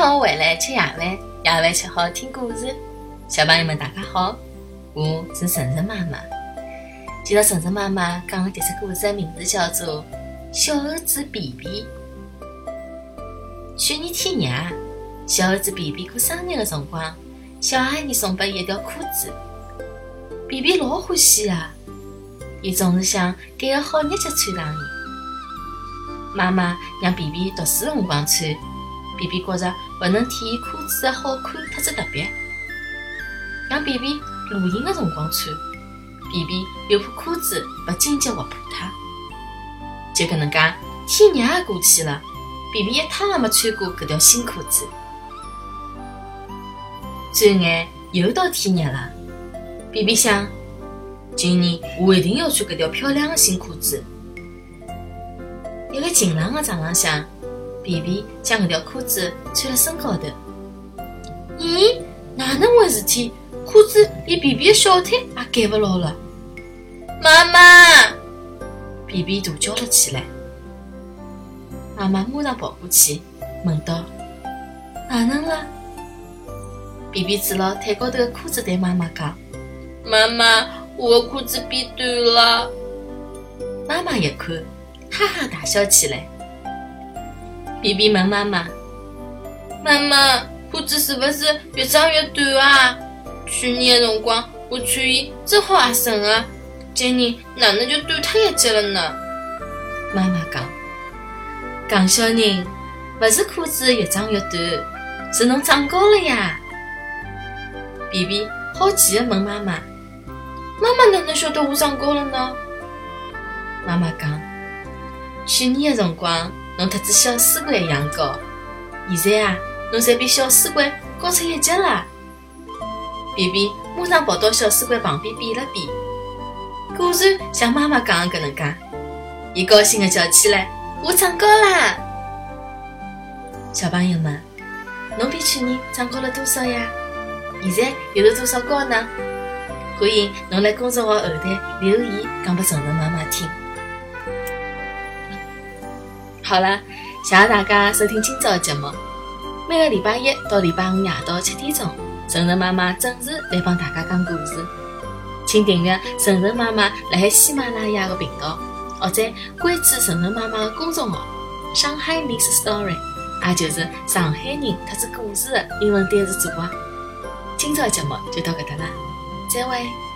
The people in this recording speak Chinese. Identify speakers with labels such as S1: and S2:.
S1: 学回来吃夜饭，夜饭吃好听故事。小朋友们大家好，我是晨晨妈妈。今朝晨晨妈妈讲的这只故事的名字叫做《小猴子比比》。去年天热，小猴子比比过生日的辰光，小阿姨送拨伊一条裤子。比比老欢喜啊，伊总是想拣个好日脚穿上伊。妈妈让比比读书辰光穿，比比觉着勿能体现裤子的好看特子特别。让比比露营的辰光穿，比比又怕裤子勿紧结活破脱。就搿能介，天热也过去了，比比一趟也没穿过搿条新裤子。转眼又到天热了，比比想，今年我一定要穿搿条漂亮的新裤子。一个晴朗的早浪向，比比将搿条裤子穿辣身高头。咦，哪能回事体？裤子连比比的小腿也盖勿牢了。妈妈！比比大叫了起来。妈妈马上跑过去，问道：“哪能了？”比比指牢腿高头的裤子对妈妈讲：“妈妈，我的裤子变短了。”妈妈一看，哈哈大笑起来。比比问妈妈：“妈妈，裤子是不是越长越短啊？去年的辰光我穿伊正好合身啊，今年哪能就短脱一截了呢？”妈妈讲小人，不是裤子越长越短，是侬长高了呀。比比好奇地问妈妈：“妈妈哪能晓得我长高了呢？”妈妈讲：“去年的辰光侬特子小水鬼一样高，现在啊，侬侪比小水鬼高出一截了。”比比马上跑到小水鬼旁边比了比，果然像妈妈讲的搿能介，伊高兴地叫起来：“我长高啦！”小朋友们，侬比去年长高了多少呀？现在又是多少高呢？欢迎侬来公众号后台留言讲拨晨晨妈妈听。好了，谢谢大家收听今朝的节目。每个礼拜一到礼拜五夜到7点钟，晨晨妈妈准时来帮大家讲故事。请订阅晨晨妈妈辣海喜马拉雅的频道，或者关注晨晨妈妈的公众号上海 Mix Story， 也就是上海人特子故事的英文单词组合。今朝的节目就到搿搭啦，再会。